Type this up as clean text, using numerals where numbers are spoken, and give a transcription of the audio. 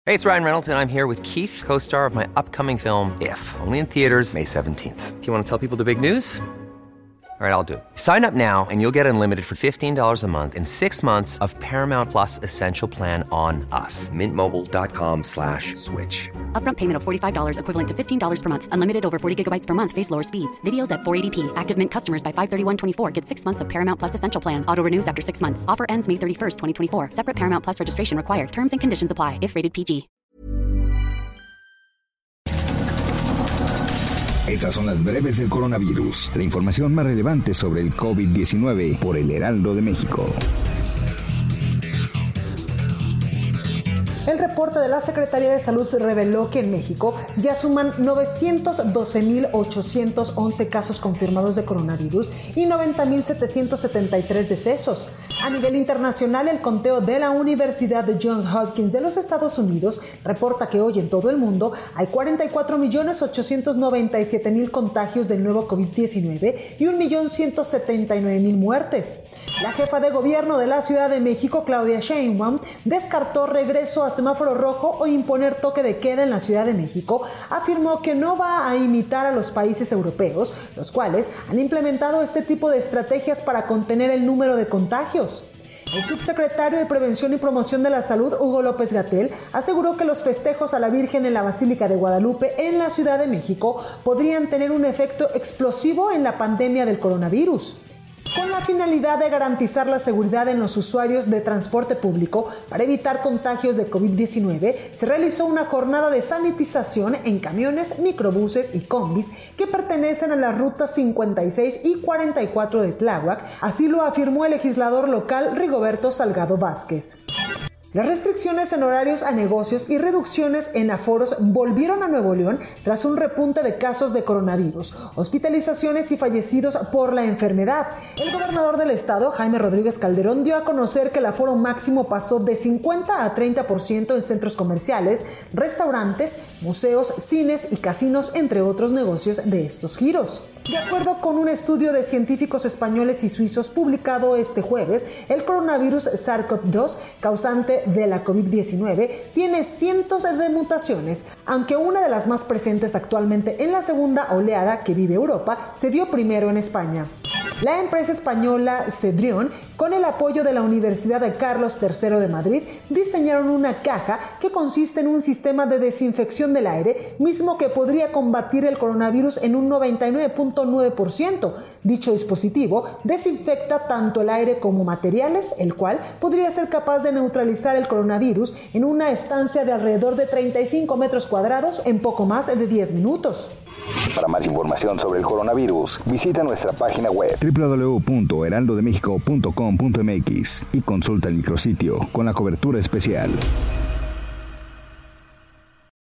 Hey, it's Ryan Reynolds, and I'm here with Keith, co-star of my upcoming film, If, only in theaters May 17th. Do you want to tell people the big news? All right, I'll do it. Sign up now and you'll get unlimited for $15 a month and 6 months of Paramount Plus Essential Plan on us. MintMobile.com/switch. Upfront payment of $45 equivalent to $15 per month. Unlimited over 40 gigabytes per month. Face lower speeds. Videos at 480p. Active Mint customers by 531.24 get 6 months of Paramount Plus Essential Plan. Auto renews after 6 months. Offer ends May 31st, 2024. Separate Paramount Plus registration required. Terms and conditions apply if rated PG. Estas son las breves del coronavirus. La información más relevante sobre el COVID-19 por el Heraldo de México. El reporte de la Secretaría de Salud reveló que en México ya suman 912,811 casos confirmados de coronavirus y 90,773 decesos. A nivel internacional, el conteo de la Universidad de Johns Hopkins de los Estados Unidos reporta que hoy en todo el mundo hay 44,897,000 contagios del nuevo COVID-19 y 1,179,000 muertes. La jefa de gobierno de la Ciudad de México, Claudia Sheinbaum, descartó regreso a semáforo rojo o imponer toque de queda en la Ciudad de México. Afirmó que no va a imitar a los países europeos, los cuales han implementado este tipo de estrategias para contener el número de contagios. El subsecretario de Prevención y Promoción de la Salud, Hugo López-Gatell, aseguró que los festejos a la Virgen en la Basílica de Guadalupe en la Ciudad de México podrían tener un efecto explosivo en la pandemia del coronavirus. Con la finalidad de garantizar la seguridad en los usuarios de transporte público para evitar contagios de COVID-19, se realizó una jornada de sanitización en camiones, microbuses y combis que pertenecen a las rutas 56 y 44 de Tláhuac, así lo afirmó el legislador local Rigoberto Salgado Vázquez. Las restricciones en horarios a negocios y reducciones en aforos volvieron a Nuevo León tras un repunte de casos de coronavirus, hospitalizaciones y fallecidos por la enfermedad. El gobernador del estado, Jaime Rodríguez Calderón, dio a conocer que el aforo máximo pasó de 50 a 30% en centros comerciales, restaurantes, museos, cines y casinos, entre otros negocios de estos giros. De acuerdo con un estudio de científicos españoles y suizos publicado este jueves, el coronavirus SARS-CoV-2, causante de la COVID-19, tiene cientos de mutaciones, aunque una de las más presentes actualmente en la segunda oleada que vive Europa se dio primero en España. La empresa española Cedrion, con el apoyo de la Universidad de Carlos III de Madrid, diseñaron una caja que consiste en un sistema de desinfección del aire, mismo que podría combatir el coronavirus en un 99.9%. Dicho dispositivo desinfecta tanto el aire como materiales, el cual podría ser capaz de neutralizar el coronavirus en una estancia de alrededor de 35 metros cuadrados en poco más de 10 minutos. Para más información sobre el coronavirus, visita nuestra página web www.heraldodemexico.com.mx y consulta el micrositio con la cobertura especial.